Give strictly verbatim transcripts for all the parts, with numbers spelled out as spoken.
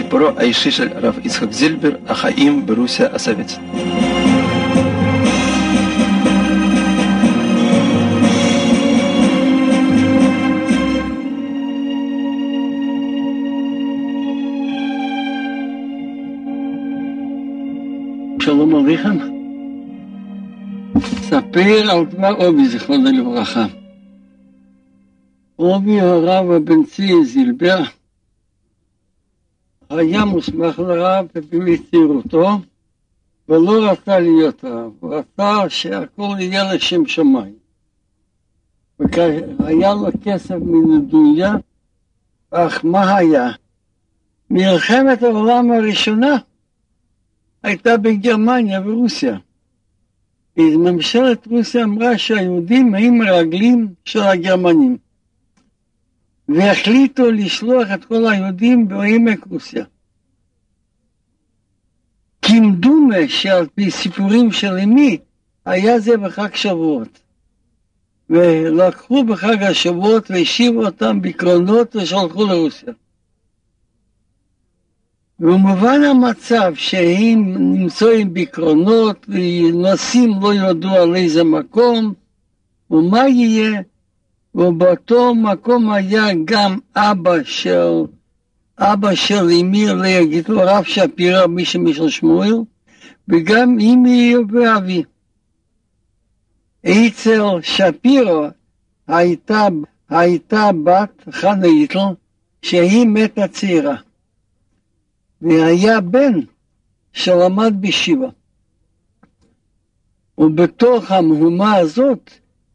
סיפורו האישי של הרב יצחק זילבר, החיים ברוסיה הסובייטית. שלום עליכם. ספר על דבר אובי, זיכרונו לברכה. אובי הרב הבן-צבי זילבר היה מוסמך לרב בצעירותו, ולא רצה להיות רב, הוא רצה שהכל יהיה לשם שמיים. והיה לו כסף מנדוניה, אך מה היה? מלחמת העולם הראשונה הייתה בגרמניה ורוסיה. ממשלת רוסיה אמרה שהיהודים הם הרגלים של הגרמנים. והחליטו לשלוח את כל היהודים בעמק רוסיה. כמדומה שעל פי סיפורים של אמי, היה זה בחג שבועות. ולקחו בחג השבועות והשיבו אותם בקרונות ושלחו לרוסיה. ובמובן המצב שהם נמצאים בקרונות ונוסעים לא ידעו על איזה מקום ומה יהיה, ובאותו מקום היה גם אבא של אבא של אמי להגיד לו רב שפירא מי שמשל שמואל, וגם אמי ואבי. אצל שפירא הייתה, הייתה בת חנה היטל שהיא מתה צעירה. והיה בן שלמד בישיבה. ובתוך המהומה הזאת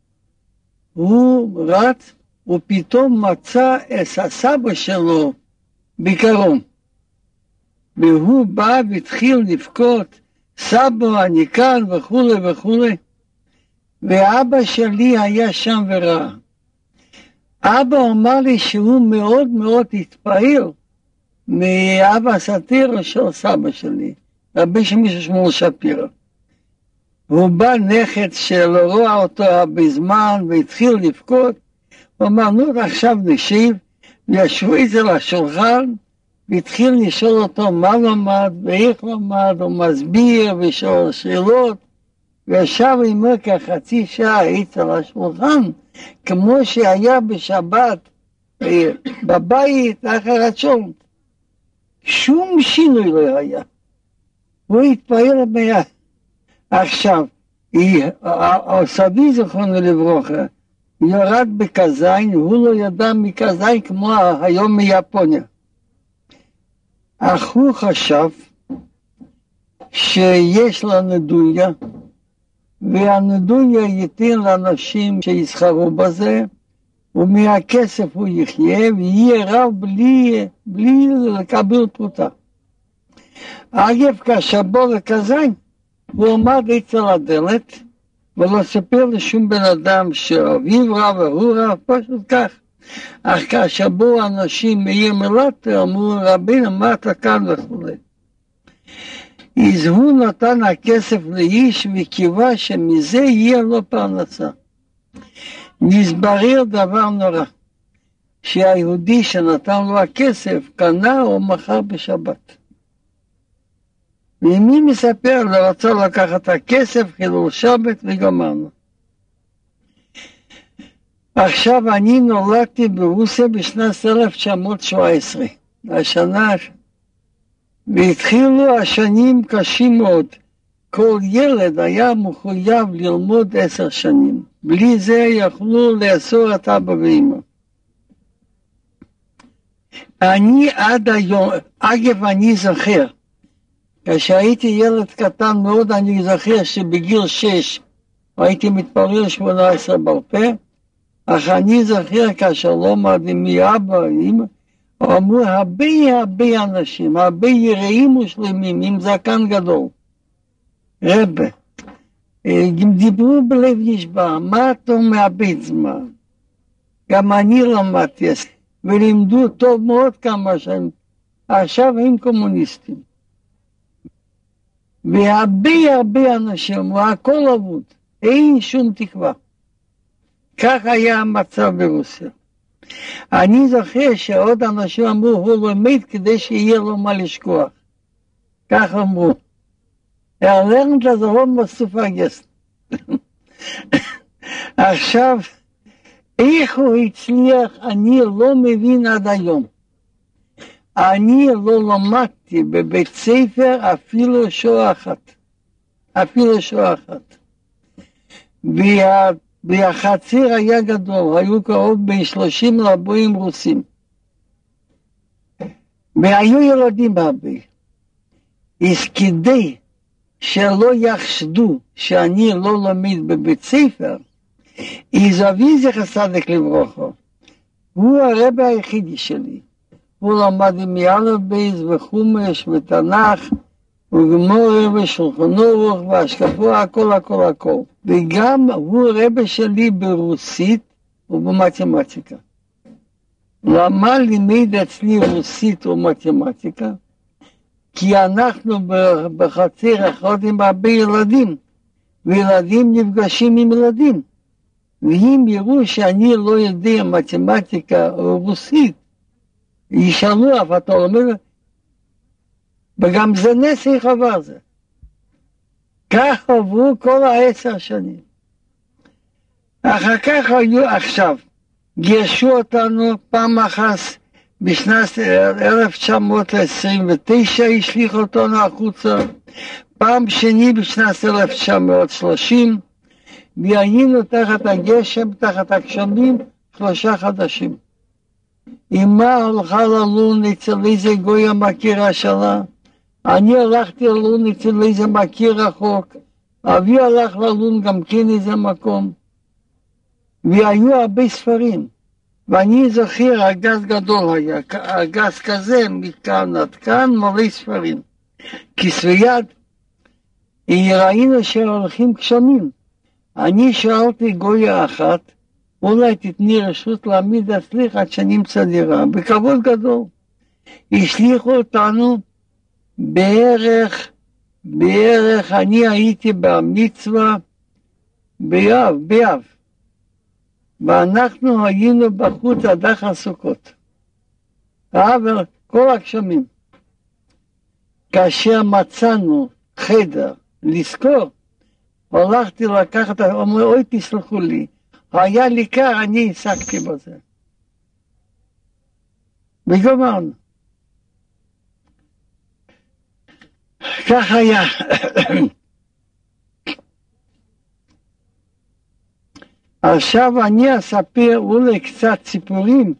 הוא רץ ופתאום מצא את הסבא שלו בקרון. והוא בא והתחיל לבכות, סבא אני כאן וכו' וכו'. ואבא שלי היה שם וראה. אבא אמר לי שהוא מאוד מאוד התפעל מאבא סאטירה של סבא שלי, רבי שמישהו שמואל שפירא. הוא בא נכד שלא רואה אותו בזמן והתחיל לבכות, הוא אמר, נו עכשיו נשיב, וישבו אצל השולחן, והתחיל לשאול אותו מה למד, ואיך למד, הוא מסביר ושאול שאלות, וישב עמו כחצי שעה אצל השולחן, כמו שהיה בשבת, בבית אחר הצ'ון. שום שינוי לא היה. הוא התפעל מיד. עכשיו, סבי זכרונו לברכה, ירד בקזיין, הוא לא ידע מקזיין כמו היום מיפוניה. אך הוא חשב שיש לה נדוניה, והנדוניה ייתן לאנשים שיסחרו בזה, ומהכסף הוא יחיה, ויהיה רב בלי, בלי לקבל פרוטה. אגב, כאשר בוא לקזיין, הוא עמד אצל הדלת, ולא ספר לשום בן אדם שאביו רב והוא רב, פשוט כך. אך כאשר בואו אנשים מעיר מלטה, אמרו רבינו מה אתה כאן וכו'. אז הוא נתן הכסף לאיש וקיווה שמזה יהיה לו פרנסה. נסברר דבר נורא, שהיהודי שנתן לו הכסף קנה או מכר בשבת. ומי מספר לו רצה לקחת הכסף חילול שבת וגמרנו. עכשיו אני נולדתי ברוסיה בשנת אלף תשע מאות שבע עשרה, השנה, והתחילו השנים קשים מאוד. כל ילד היה מחויב ללמוד עשר שנים. בלי זה יכלו לאסור את אבא ואמא. אני עד היום, אגב אני זוכר, כשהייתי ילד קטן מאוד אני זוכר שבגיל שש הייתי מתפלל שמונה עשרה בעל פה, אך אני זוכר כאשר לא מדעים מאבא ואמא, אמרו הרבה הרבה אנשים, הרבה יראים ושלמים עם זקן גדול. רבה, הם דיברו בלב נשבע, מה אתה מאבד זמן? גם אני למדתי, ולימדו טוב מאוד כמה שהם, עכשיו הם קומוניסטים. והרבה הרבה אנשים, והכל אבוד, אין שום תקווה. כך היה המצב ברוסיה. אני זוכר שעוד אנשים אמרו, הוא לומד כדי שיהיה לו מה לשכוח. כך אמרו. Er lernt das Rom was zu vergessen. עכשיו, איך הוא הצליח, אני לא מבין עד היום. אני לא למדתי בבית ספר אפילו שעה אחת. אפילו שעה אחת. וה, והחציר היה גדול, היו קרוב בין שלושים לארבעים רוסים. והיו ילדים הרבה. אז כדי שלא יחשדו שאני לא לומד בבית ספר, אז אבי זכר צדיק לברכה, הוא הרבי היחידי שלי. הוא למד עם מאלף בייס וחומש ותנ"ך וגמורה ושולחן אורוך והשקפו, הכל הכל הכל. וגם הוא רבי שלי ברוסית ובמתמטיקה. למה לימד אצלי רוסית ומתמטיקה? כי אנחנו בחצר אחד עם הרבה ילדים, וילדים נפגשים עם ילדים. ואם יראו שאני לא יודע מתמטיקה או רוסית, ישאלו אף אתה אומר, וגם זה נס איך עבר זה. כך עברו כל העשר שנים. אחר כך היו עכשיו, גירשו אותנו פעם אחת, בשנת אלף תשע מאות עשרים ותשע השליך אותנו החוצה, פעם שני בשנת אלף תשע מאות שלושים, והיינו תחת הגשם, תחת הגשמים, שלושה חדשים. אמא הלכה ללון אצל איזה גוי המכירה שלה, אני הלכתי ללון אצל איזה מכיר רחוק, אבי הלך ללון גם כן איזה מקום, והיו הרבה ספרים. ואני זוכר, ארגז גדול היה, ארגז כזה, מכאן עד כאן, מלא ספרים. כסבי יד, ראינו שהולכים גשמים. אני שאלתי גויה אחת, אולי תתני רשות להעמיד אצלך עד שנמצא דירה, בכבוד גדול. השליחו אותנו בערך, בערך, אני הייתי במצווה, באב, באב. ואנחנו היינו בחוץ עד אחר סוכות. אבל כל הגשמים. כאשר מצאנו חדר לזכור, הלכתי לקחת, אומר, אוי תסלחו לי, היה לי קר, אני עסקתי בזה. וגמרנו. כך היה. עכשיו אני אספר אולי קצת סיפורים,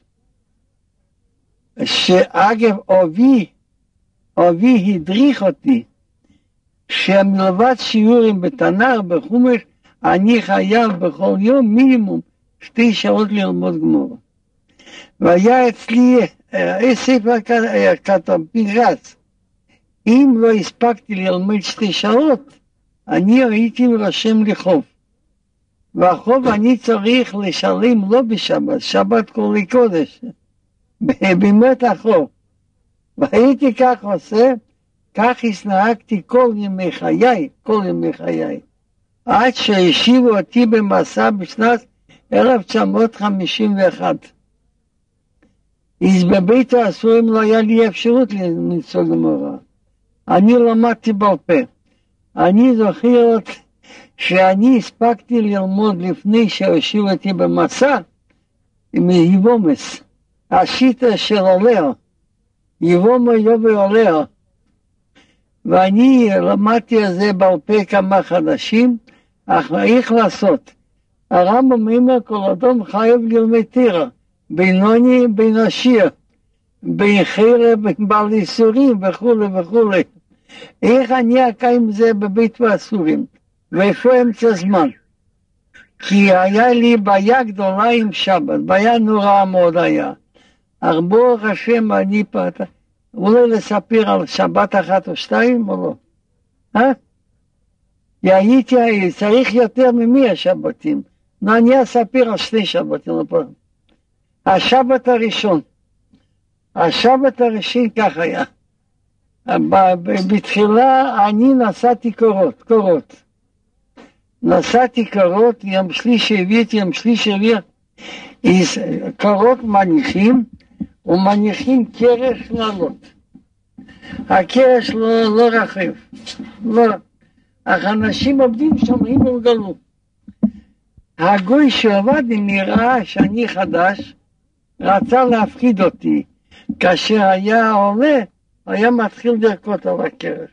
שאגב אבי, אבי הדריך אותי, שמלבד שיעורים בתנ"ך, בחומש, אני חייב בכל יום מינימום שתי שעות ללמוד גמרא. והיה אצלי ספר כתוב פנקס, אם לא הספקתי ללמוד שתי שעות, אני הייתי רושם לי חוב. והחוב אני צריך לשלם לא בשבת, שבת כולי קודש, באמת החוב. והייתי כך עושה, כך הסנהגתי כל ימי חיי, כל ימי חיי. עד שהשיבו אותי במסע בשנת אלף תשע מאות חמישים ואחת. אז בבית הסוהרים לא היה לי אפשרות למצוא גמרא. אני למדתי בעל פה. אני זוכר שאני הספקתי ללמוד לפני שהושיבו אותי במסע, עם יבומס, השיטה של עולר, יבומו יובי עולר. ואני למדתי על זה בעל פה כמה חדשים, אך איך לעשות? הרמב"ם אומר כל אדם חייב ללמד תורה, בינוני בין עשיר, בין חרב, בין בעל איסורים וכו' וכו'. איך אני אקיים זה בבית והסורים? ואיפה אמצע זמן? כי היה לי בעיה גדולה עם שבת, בעיה נוראה מאוד היה. אך ברוך השם אני פתח, אולי לספר על שבת אחת או שתיים או לא? אה? הייתי, צריך יותר ממי השבתים. נו, אני אספר על שתי שבתים. השבת הראשון, השבת הראשון כך היה. בתחילה אני נסעתי קורות, קורות. נסעתי קורות, יום שלישי הביא את יום שלישי הביא, קורות מניחים, ומניחים קרש לעלות. הקרש לא, לא רחב, לא. אך אנשים עובדים שומרים וגלו. הגוי שעבד נראה שאני חדש, רצה להפחיד אותי. כאשר היה עולה, היה מתחיל לרקוד על הקרש.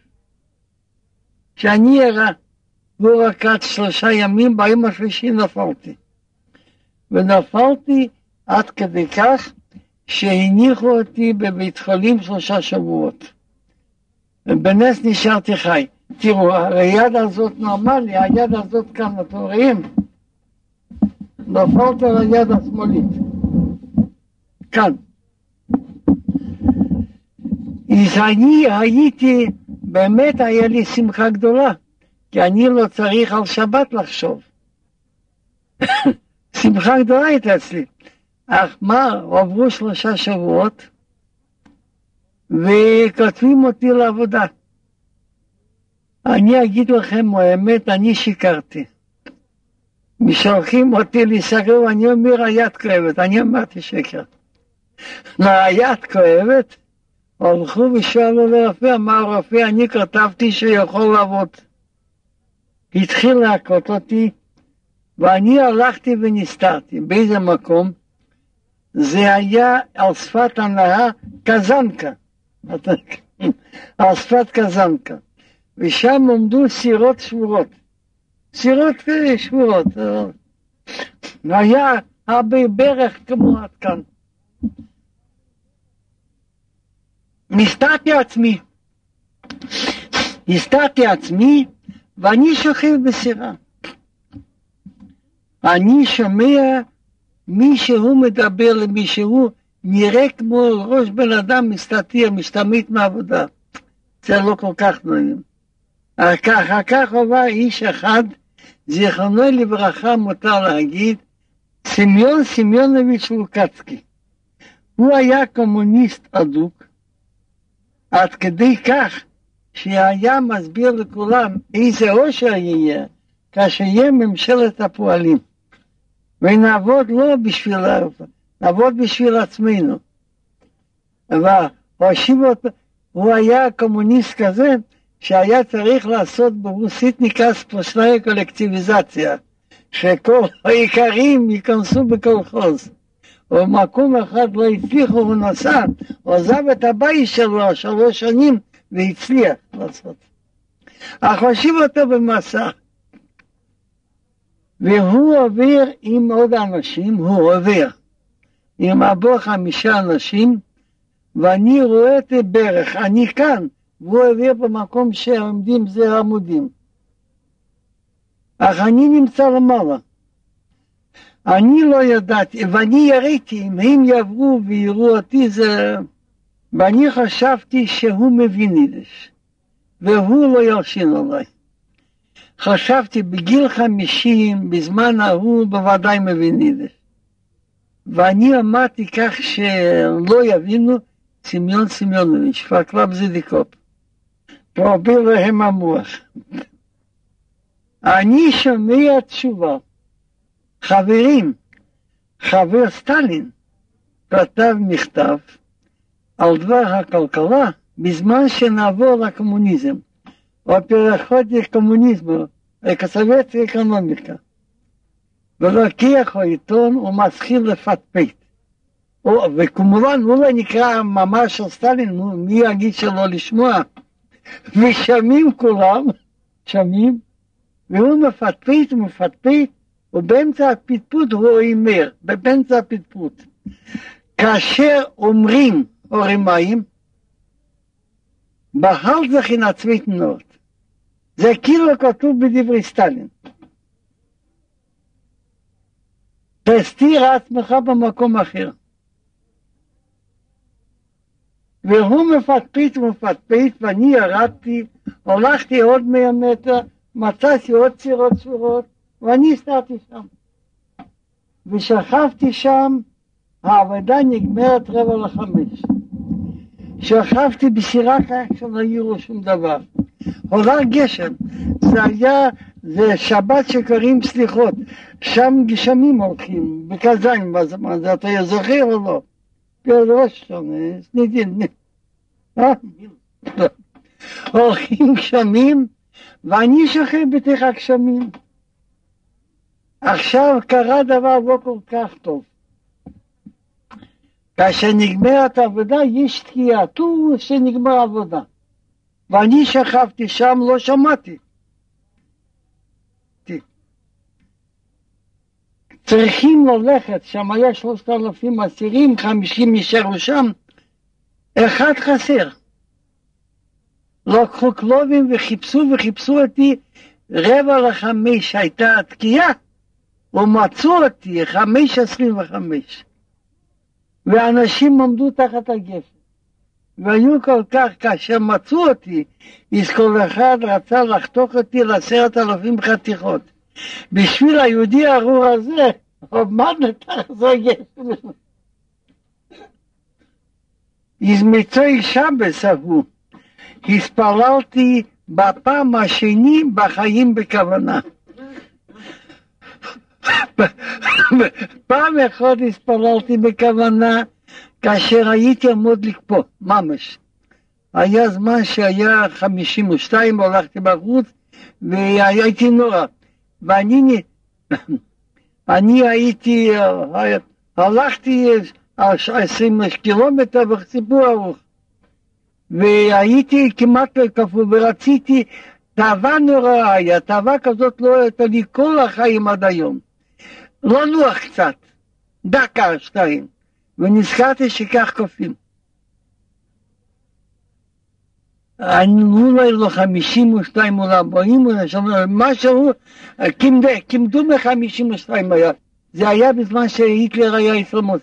כשאני הראה, הוא רקד שלושה ימים, ביום השלישי נפלתי. ונפלתי עד כדי כך שהניחו אותי בבית חולים שלושה שבועות. ובנס נשארתי חי. תראו, היד הזאת נורמלי, היד הזאת כאן, אתם רואים? נפלתי על היד השמאלית. כאן. אז אני הייתי, באמת היה לי שמחה גדולה, כי אני לא צריך על שבת לחשוב. שמחה גדולה הייתה אצלי. אך מה, עברו שלושה שבועות, וכותבים אותי לעבודה. אני אגיד לכם האמת, אני שיקרתי. משלחים אותי להיסגר, ואני אומר, היד כואבת. אני אמרתי שקר. היד כואבת, הלכו ושאלו לרופא, אמר הרופא, אני כתבתי שיכול לעבוד. התחיל להכות אותי, ואני הלכתי ונסתרתי. באיזה מקום? זה היה על שפת הנהר קזנקה. על שפת קזנקה. ושם עומדו סירות שבורות. סירות שבורות. היה הרבה ברך כמו עד כאן. נסתרתי עצמי. נסתרתי עצמי, ואני שוכב בסירה. אני שומע מישהו מדבר למישהו, נראה כמו ראש בן אדם מסתתיר, משתמט מעבודה. זה לא כל כך נעים. אחר כך עבר איש אחד, זיכרונו לברכה מותר להגיד, סמיון סמיונוביץ' לוקצקי. הוא היה קומוניסט אדוק, עד כדי כך שהיה מסביר לכולם איזה אושר יהיה, כאשר יהיה ממשלת הפועלים. ונעבוד לא בשביל, נעבוד בשביל עצמנו. והושיב אותו, הוא היה קומוניסט כזה, שהיה צריך לעשות ברוסית נקרא ספושנאי קולקטיביזציה, שכל העיקרים ייכנסו בקולחוז. ובמקום אחד לא הצליחו, הוא נסע, הוא עזב את הבית שלו שלוש שנים, והצליח לעשות. אך הושיב אותו במסע. והוא עובר עם עוד אנשים, הוא עובר עם עבור חמישה אנשים, ואני רואה את הברך, אני כאן, והוא עובר במקום שעומדים זה עמודים. אך אני נמצא למעלה. אני לא ידעתי, ואני יראיתי, אם הם יעברו ויראו אותי זה... ואני חשבתי שהוא מבין יידיש, והוא לא ילשין עליי. חשבתי בגיל חמישים, בזמן ההוא בוודאי מבין יידיש. ואני אמרתי כך שלא יבינו, סמיון סמיונוביץ', פרקלב זדיקופ. פרוביל להם המוח. אני שומע תשובה. חברים, חבר סטלין, כתב מכתב על דבר הכלכלה, בזמן שנעבור לקומוניזם, או פרחות לקומוניזם, כסוות אקונומיקה. ולוקח העיתון ומתחיל לפטפט. וכמובן הוא לא נקרא ממש של סטלין, מי יגיד שלא לשמוע. ושמים כולם, שמים, והוא מפטפט ומפטפט, ובאמצע הפטפוט הוא אומר, באמצע הפטפוט. כאשר אומרים אורים מים, בהל זה חינצווית נורת. זה כאילו כתוב בדברי סטלין. תסתיר עצמך במקום אחר. והוא מפטפט ומפטפט, ואני ירדתי, הולכתי עוד מאה מטר, מצאתי עוד צירות שורות, ואני הסתרתי שם. ושכבתי שם, העבודה נגמרת רבע לחמש. שכבתי בסירה כך שלא יראו שום דבר. עולה גשם, זה היה, זה שבת שקוראים סליחות, שם גשמים הולכים, בקזיים בזמן, זה אתה זוכר או לא? ראש שונה, סנידין, אה? הולכים גשמים, ואני שוכב בתוך הגשמים. עכשיו קרה דבר לא כל כך טוב. כאשר נגמרת העבודה, יש תקיעה, טור שנגמר העבודה. ואני שכבתי שם, לא שמעתי. צריכים ללכת, שם היה שלושת אלפים אסירים, חמישים נשארו שם, אחד חסר. לקחו כלובים וחיפשו וחיפשו אותי, רבע לחמש הייתה התקיעה, ומצאו אותי, חמש עשרים וחמש. ואנשים עמדו תחת הגפן. והיו כל כך, כאשר מצאו אותי, אז כל אחד רצה לחתוך אותי לעשרת אלפים חתיכות. בשביל היהודי הארור הזה, עומד לתחת הגפן. אז מצוי שבס ההוא, התפללתי בפעם השני בחיים בכוונה. פעם אחת התפללתי בכוונה, כאשר הייתי עמוד לקפוא, ממש. היה זמן שהיה חמישים ושתיים, הלכתי בחוץ, והייתי נורא. ואני אני הייתי, הלכתי עשרים קילומטר בסיפור ארוך. והייתי כמעט כפול, ורציתי, תאווה נוראה היה, תאווה כזאת לא הייתה לי כל החיים עד היום. לא נוח קצת, דקה, שתיים. ונזכרתי שכך קופים. אני אולי לא חמישים ושתיים או ארבעים, משהו, כמדו מחמישים ושתיים היה. זה היה בזמן שהיטלר היה ישראמוס.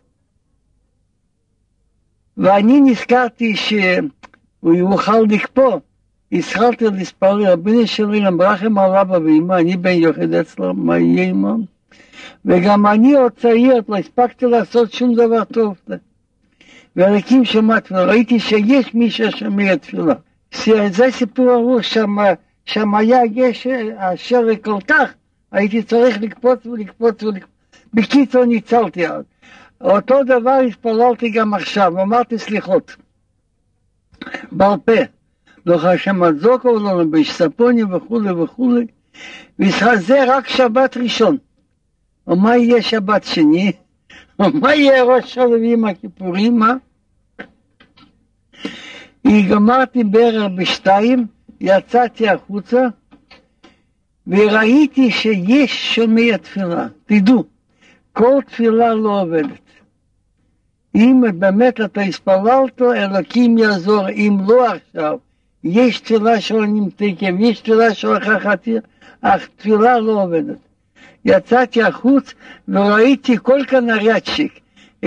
ואני נזכרתי שהוא יוכל לקפוא. התחלתי לספר, רבינו שלי למברכים על אבא ואמא, אני בן יוחד אצלו, מה יהיה עמם? וגם אני עוד צעיר, לא הספקתי לעשות שום דבר טוב. ורקים שמעת, וראיתי שיש מי ששומע תפילה. זה סיפור ארוך, שם, שם היה גשם, אשר כל כך, הייתי צריך לקפוץ ולקפוץ ולקפוץ. בקיצור ניצלתי אז. אותו דבר התפללתי גם עכשיו, אמרתי סליחות. בעל פה. לא חשם הזוקו, לא לבש ספוני וכו' וכו'. וזה רק שבת ראשון. ומה יהיה שבת שני? ומה יהיה ראש שלבים הכיפורים? מה? גמרתי בערב בשתיים, יצאתי החוצה, וראיתי שיש שומע תפילה. תדעו, כל תפילה לא עובדת. אם באמת אתה הספללת, אלוקים יעזור. אם לא עכשיו, יש תפילה שלא נמתקם, יש תפילה שלא חכתיר, אך תפילה לא עובדת. יצאתי החוץ וראיתי כל כאן נריאצ'יק.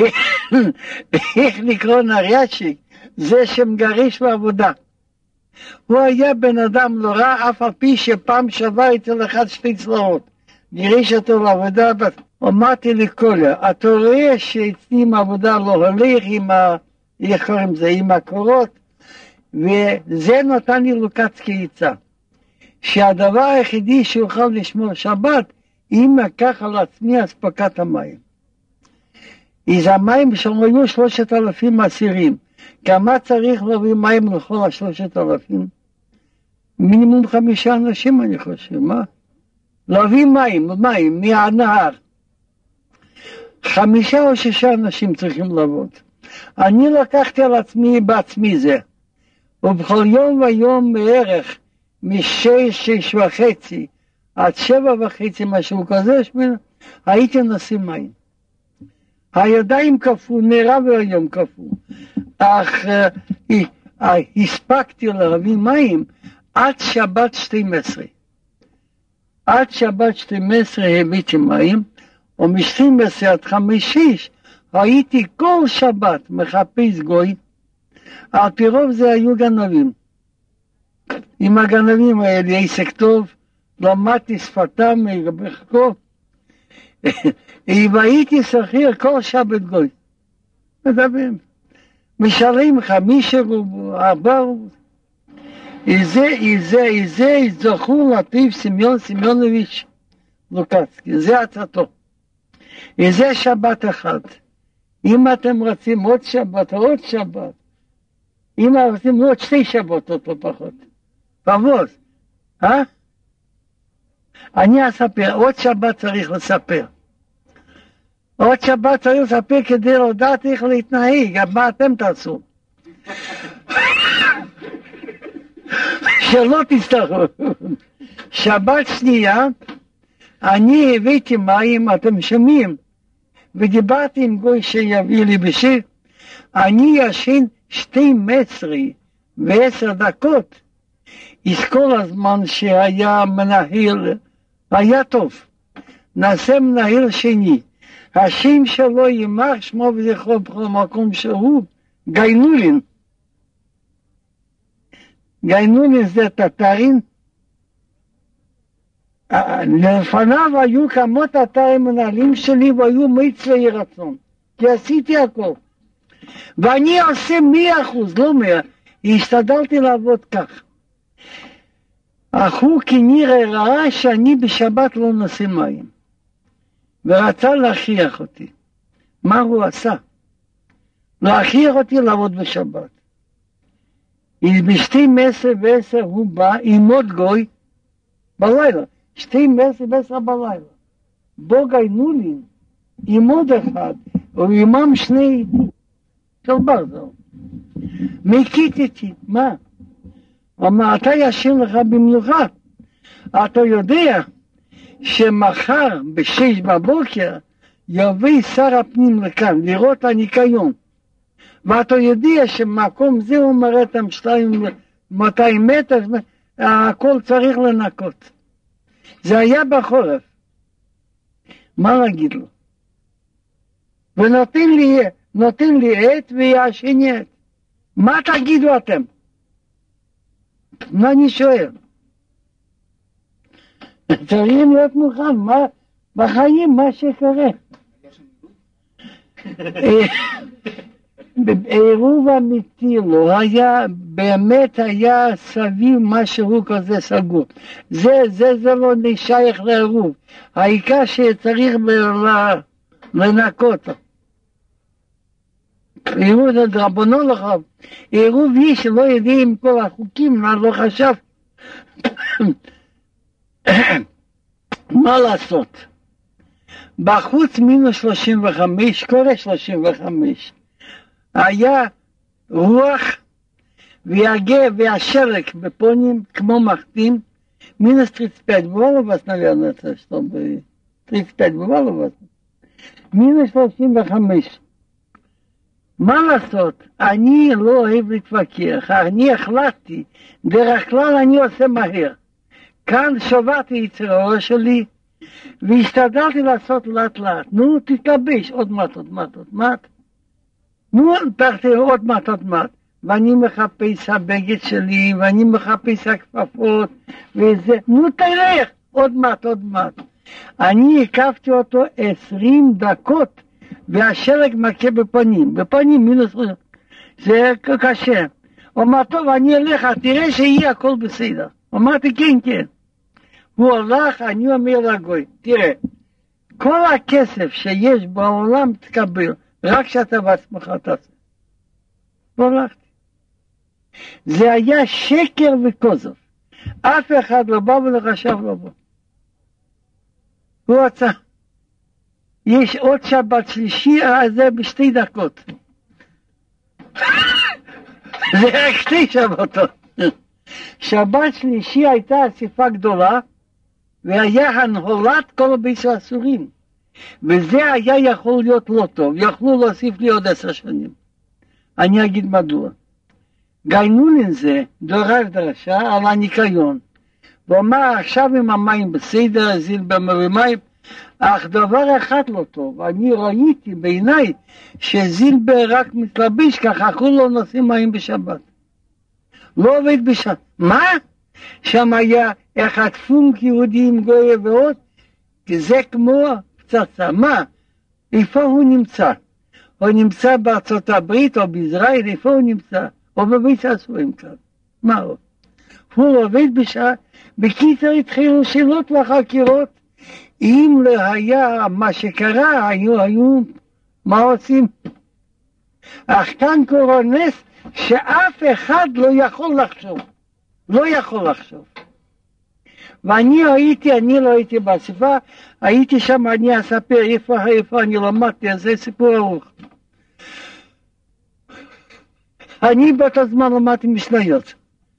איך לקרוא נריאצ'יק? זה שמגריש בעבודה. הוא היה בן אדם לא רע, אף על פי שפעם שווה אצל אחד שתי צלעות. גיריש אותו לעבודה, אמרתי לקולר, אתה רואה שאצלי עם העבודה לא הולך עם ה... איך קוראים זה? עם הקורות, וזה נתן לי לוקץ כעיצה. שהדבר היחידי שאוכל לשמור שבת, אם אקח על עצמי אספקת המים. אז המים שם היו שלושת אלפים אסירים. כמה צריך להביא מים לכל השלושת אלפים? מינימום חמישה אנשים אני חושב, מה? להביא מים, מים, מהנהר. חמישה או שישה אנשים צריכים לעבוד. אני לקחתי על עצמי בעצמי זה. ובכל יום ויום בערך, משש, שש וחצי, עד שבע וחצי, משהו כזה, שמינה, הייתי נשים מים. הידיים קפו, נראה והיום קפו. אך uh, uh, הספקתי להביא מים עד שבת שתים עשרה. עד שבת שתים עשרה הבאתי מים, ומשתים עשרה עד חמש שש, הייתי כל שבת מחפש גוי. על פי רוב זה היו גנבים. עם הגנבים האלה עסק טוב, למדתי שפתם בחקו, והייתי שכיר כל שבת גוי. מדברים. משלם חמישה רובל, ארבע רובל. וזה, וזה, וזה זכור לפיו סמיון סמיונוביץ' לוקצקי, זה עצתו. וזה שבת אחד. אם אתם רוצים עוד שבת, עוד שבת, אם אתם רוצים עוד שתי שבתות, לא פחות. פבוז, אה? אני אספר, עוד שבת צריך לספר. עוד שבת צריך לספר כדי לדעת איך להתנהג, מה אתם תעשו. שלא תצטרכו. שבת שנייה, אני הבאתי מים, אתם שומעים, ודיברתי עם גוי שיביא לי בשיר, אני ישן שתים עשרה ועשר דקות, אז כל הזמן שהיה מנהל, היה טוב. נעשה מנהל שני, השם שלו יימח שמו וזכרו בכל מקום שהוא, גיינולין. גיינולין זה טטרין, לפניו היו כמה טטרים מנהלים שלי והיו מצווי רצון, כי עשיתי הכל. ואני עושה מאה אחוז, לא מאה, השתדלתי לעבוד כך. אך הוא כנראה ראה שאני בשבת לא נושא מים, ורצה להכריח אותי. מה הוא עשה? להכריח אותי לעבוד בשבת. בשתים עשרה ועשר הוא בא עם עוד גוי בלילה, שתים עשרה ועשר בלילה. בו גיינולין עם עוד אחד, ועימם שני של ברזל. מקיטתי, מה? אמר, אתה ישן לך במנוחה. אתה יודע שמחר בשש בבוקר יביא שר הפנים לכאן לראות הניקיון. ואתה יודע שמקום זה הוא מראה את מאתיים מטר, הכל צריך לנקות. זה היה בחורף. מה להגיד לו? ונותן לי, נותן לי עת וישן עת. מה תגידו אתם? מה אני שואל? צריך להיות מוכן, מה, בחיים מה שקורה. בעירוב אמיתי לא היה, באמת היה סביב משהו כזה סגור. זה, זה, זה לא נשייך לעירוב. העיקר שצריך לנקות. עירוב זה דרבנו לך. עירוב יש שלא יודעים כל החוקים, לא חשב. מה לעשות? בחוץ מינוס שלושים וחמש, קורה שלושים וחמש. היה רוח והגה והשלג בפונים כמו מחתים, מינוס טריס פט, בואו לבס נביאנו את זה, טריס פט, בואו לבס. מינוס שלושים וחמש. מה לעשות? אני לא אוהב להתווכח, אני החלטתי, דרך כלל אני עושה מהר. כאן שברתי את הראש שלי, והשתדלתי לעשות לאט לאט. נו, תתלבש, עוד מעט, עוד מעט, עוד מעט. נו, פרתי עוד מעט, עוד מעט. ואני מחפש הבגד שלי, ואני מחפש הכפפות, וזה, נו תלך, עוד מעט, עוד מעט. אני הקפתי אותו עשרים דקות, והשלג מכה בפנים, בפנים מינוס, זה קשה. אומר, טוב, אני אלך, תראה שיהיה הכל בסדר. אמרתי, כן, כן. הוא הולך, אני אומר לגוי, תראה, כל הכסף שיש בעולם תקבל, רק שאתה בעצמך תעשה. והלכתי. זה היה שקר וכוזב. אף אחד לא בא ולא חשב לבוא. הוא רצה. יש עוד שבת שלישי, אז זה בשתי דקות. זה רק שתי שבתות. שבת שלישי הייתה אסיפה גדולה, והיה הנהולת כל הבית האסורים. וזה היה יכול להיות לא טוב, יכלו להוסיף לי עוד עשר שנים. אני אגיד מדוע. גיינולין זה דורש דרשה על הניקיון. ואומר עכשיו עם המים בסדר, זילבר מרימים, אך דבר אחד לא טוב, אני ראיתי בעיניי שזילבר רק מתלבש ככה, כולו נושאים מים בשבת. לא עובד בשבת. מה? שם היה אחד פונק יהודי עם גוי ועוד, כי זה כמו פצצה. מה? איפה הוא נמצא? הוא נמצא בארצות הברית או בישראל, איפה הוא נמצא? או בבית הסורים כאן. מה הוא? הוא עובד בשעה, בקיצר התחילו שאלות וחקירות, אם לא היה מה שקרה, היו, היו, מה עושים? אך כאן קורה נס שאף אחד לא יכול לחשוב, לא יכול לחשוב. ואני הייתי, אני לא הייתי באספה, הייתי שם, אני אספר איפה, איפה אני למדתי, זה סיפור ארוך. אני באותו זמן למדתי משניות.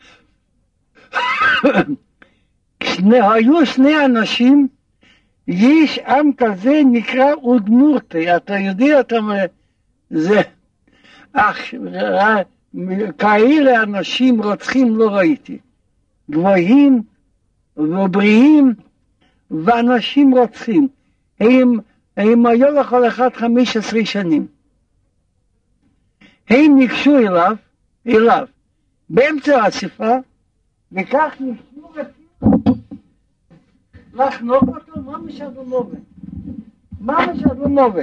היו שני אנשים, יש עם כזה נקרא אודמורטי, אתה יודע, אתה אומר, זה, אך, כאלה אנשים רוצחים לא ראיתי, גבוהים ובריאים, ואנשים רוצחים, הם, הם היו לכל אחד חמש עשרה שנים, הם ניגשו אליו, אליו, באמצע האספה, וכך ניגשו לחנוק אותו, מה משדומובת? מה משדומובת?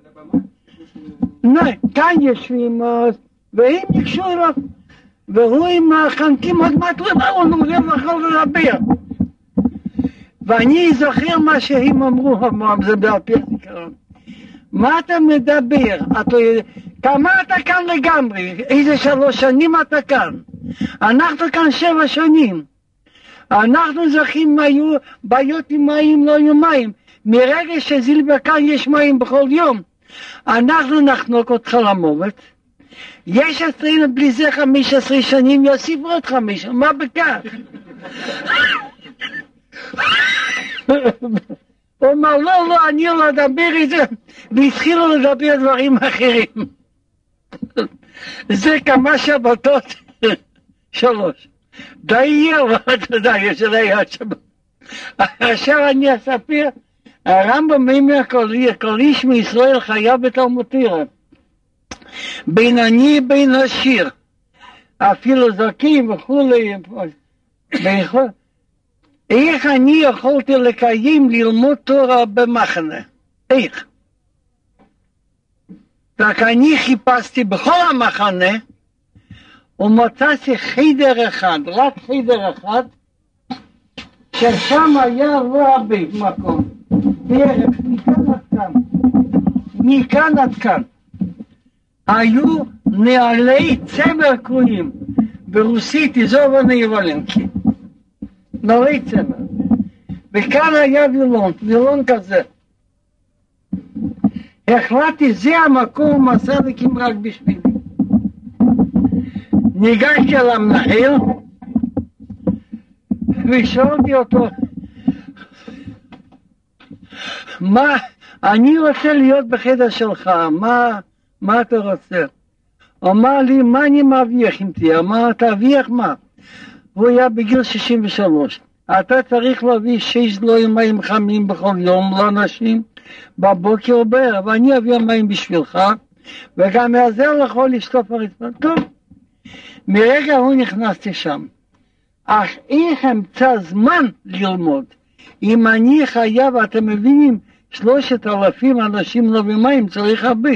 לא, כאן יושבים, והם ניגשו אליו, והוא עם החנקים עוד מעט לבא, הוא נוגע יכול לדבר. ואני זוכר מה שהם אמרו, זה בעל פי הזיכרון. מה אתה מדבר? אתה, כמה אתה כאן לגמרי? איזה שלוש שנים אתה כאן? אנחנו כאן שבע שנים. אנחנו זוכרים היו בעיות עם מים, לא היו מים. מרגע שזילבר כאן יש מים בכל יום. אנחנו נחנוק אותך למוות. יש עשרים בלי זה חמש עשרה שנים, יוסיפו עוד חמש, מה בכך? הוא אמר, לא, לא, אני לא אדבר את זה, והתחילו לדבר דברים אחרים. זה כמה שבתות, שלוש. די יהיה, אתה יודע, יש לי עוד שבת. עכשיו אני אספר, הרמב"ם אומר, כל איש מישראל חייב בתלמוד תורה. בין עני בין עשיר, אפילו זקים וכולי, איך אני יכולתי לקיים ללמוד תורה במחנה? איך? רק אני חיפשתי בכל המחנה ומצאתי חדר אחד, רק חדר אחד, ששם היה לא הרבה מקום, בערך מכאן עד כאן, מכאן עד כאן. היו נעלי צמר קרויים, ברוסית איזובני ולנקי, נעלי צמר, וכאן היה וילון, וילון כזה. החלטתי, זה המקום הסדקים רק בשבילי. ניגשתי על המנהל, ושאלתי אותו, מה, אני רוצה להיות בחדר שלך, מה, מה אתה רוצה? אמר לי, מה אני מרוויח אם תהיה? אמר, תרוויח מה? הוא היה בגיל שישים ושלוש. אתה צריך להביא שש דלויים מים חמים בכל יום לאנשים, בבוקר או בערב, ואני אביא מים בשבילך, וגם יעזר לך לשטוף הרצפה. טוב, מרגע הוא נכנסתי שם. אך איך אמצא זמן ללמוד? אם אני חייב, אתם מבינים, שלושת אלפים אנשים לא במים, צריך הרבה.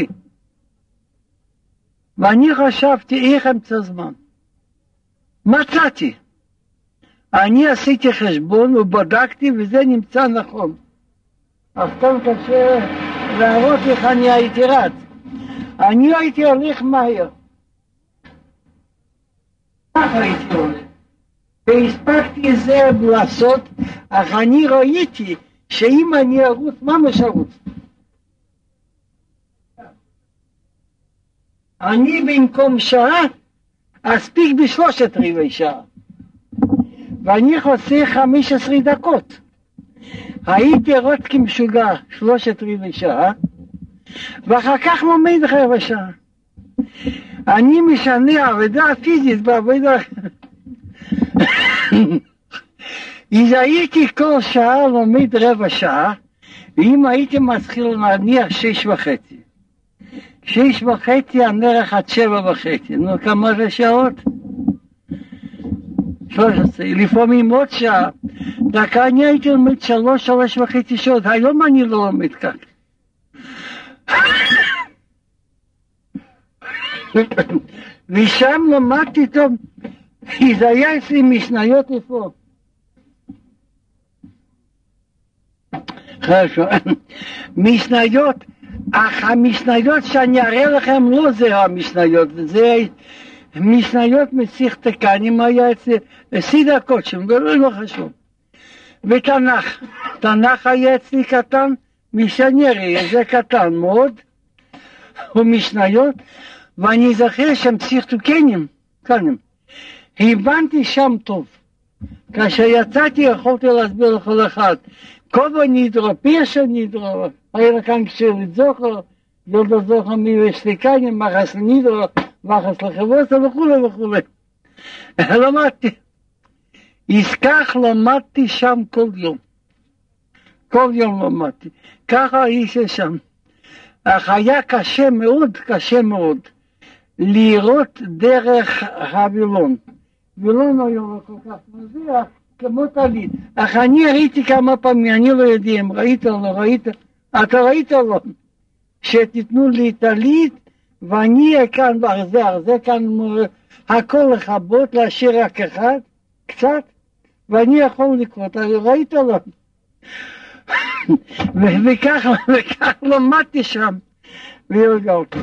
ואני חשבתי איך אמצא זמן. מצאתי. אני עשיתי חשבון ובדקתי וזה נמצא נכון. אף כאן קשה להראות איך אני הייתי רץ. אני הייתי הולך מהר. ככה הייתי הולך. והספקתי את זה לעשות, אך אני ראיתי שאם אני ארוץ, מה משרוץ? אני במקום שעה, אספיק בשלושת רבעי שעה. ואני חוסך חמש עשרה דקות. הייתי רוץ כמשוגע שלושת רבעי שעה, ואחר כך לומד רבע שעה. אני משנה עבודה פיזית בעבודה. אז הייתי כל שעה לומד רבע שעה, ואם הייתי מתחיל להניח שש וחצי. שש וחצי הנערך עד שבע וחצי. נו, כמה זה שעות? שלוש עשרה. לפעמים עוד שעה. רק אני הייתי לומד שלוש, שלוש וחצי שעות. היום אני לא לומד כך. ושם למדתי טוב. זה היה אצלי משניות איפה. חשוב. משניות, אך המשניות שאני אראה לכם לא זה המשניות, זה משניות מסיכת תקנים היה אצלי, סידה קודשם, זה לא חשוב. ותנ"ך, תנ"ך היה אצלי קטן, מיסיונרי, זה קטן מאוד, ומשניות, ואני זוכר שם פסיכתו קנים, קנים. הבנתי שם טוב. כאשר יצאתי יכולתי להסביר לכל אחד. כובע נידרו, פירשה נידרו, היה כאן כשאלית זוכר, ילדה זוכר מיושליקנים, מחס לנידרו, מחס לחבוסה וכו' וכו'. למדתי. אז למדתי שם כל יום. כל יום למדתי. ככה האיש שם. אך היה קשה מאוד, קשה מאוד, לראות דרך הווילון. וילון היה לא כל כך מזיע, כמו טלית. אך אני ראיתי כמה פעמים, אני לא יודע אם ראית או לא ראית, אתה ראית או לא, שתיתנו לי טלית, ואני כאן בארזר, זה כאן הכל לכבות, להשאיר רק אחד, קצת, ואני יכול לקרות, ראית או לא? וכך, וכך למדתי שם, והרגעתי.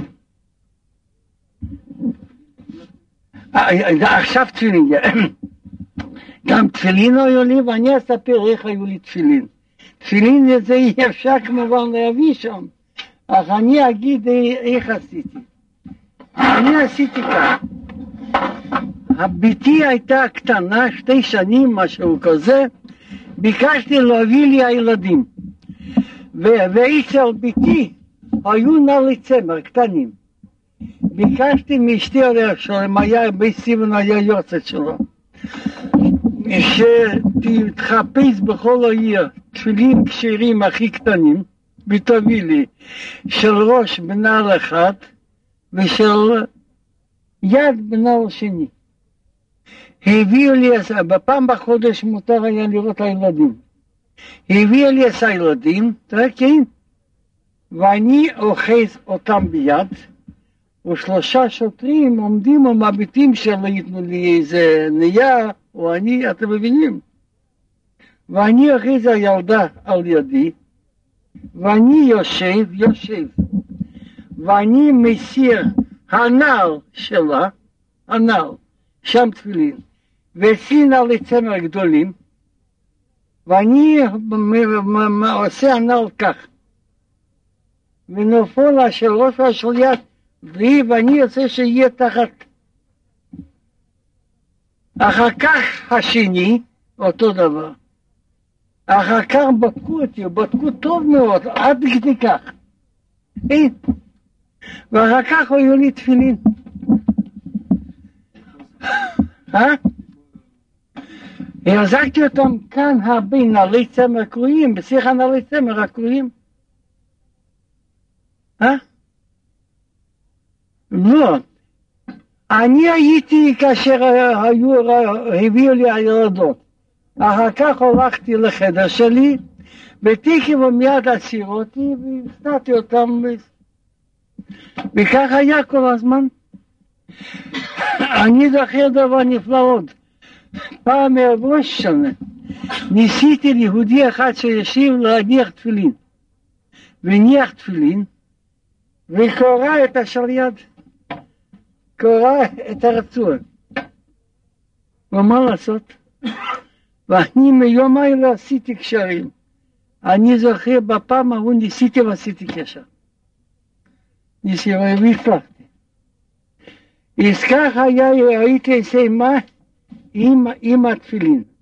עכשיו תפילין, גם תפילין היו לי, ואני אספר איך היו לי תפילין. תפילין זה אי אפשר כמובן להביא שם, אך אני אגיד איך עשיתי. אני עשיתי כך. הביתי הייתה קטנה, שתי שנים, משהו כזה, ביקשתי להביא לי הילדים. ואצל ביתי היו נעלי צמר קטנים. ביקשתי מאשתי עליה שלהם, היה בסיבן היה יוצאת שלו, שתתחפש בכל העיר תפילין כשרים הכי קטנים, ותביא לי של ראש בנעל אחד ושל יד בנעל שני. הביאו לי, בפעם בחודש מותר היה לראות הילדים. הביאו לי את הילדים, כן, ואני אוחז אותם ביד, ושלושה שוטרים עומדים ומביטים שלא ייתנו לי איזה נייר, או אני, אתם מבינים? ואני אוחז הילדה על ידי, ואני יושב, יושב, ואני מסיר הנעל שלה, הנעל, שם תפילין, ואצלי נעלי צמר גדולים, ואני עושה הנעל כך, ונופל לה של ראש של יד, ואני רוצה שיהיה תחת. אחר כך השני, אותו דבר. אחר כך בדקו אותי, בדקו טוב מאוד, עד כדי כך. אין. ואחר כך היו לי תפילין. אה? החזקתי אותם כאן הרבה נעלי צמר קרויים, בשיחה נעלי צמר הקרויים. אה? לא. אני הייתי כאשר היו, הביאו לי הילדות. אחר כך הלכתי לחדר שלי, ותיקי ומיד עציר אותי, והפתעתי אותם. וכך היה כל הזמן. אני זוכר דבר נפלא עוד. פעם מראש שנה, ניסיתי ליהודי אחד שישיב להניח תפילין. והניח תפילין, וקורא את השליד. קורא את הרצוע. ומה לעשות? ואני מיום האלה עשיתי קשרים. אני זוכר בפעם ההוא ניסיתי ועשיתי קשר. ניסיתי והפלחתי. אז כך היה, הייתי עושה מה עם, עם התפילין.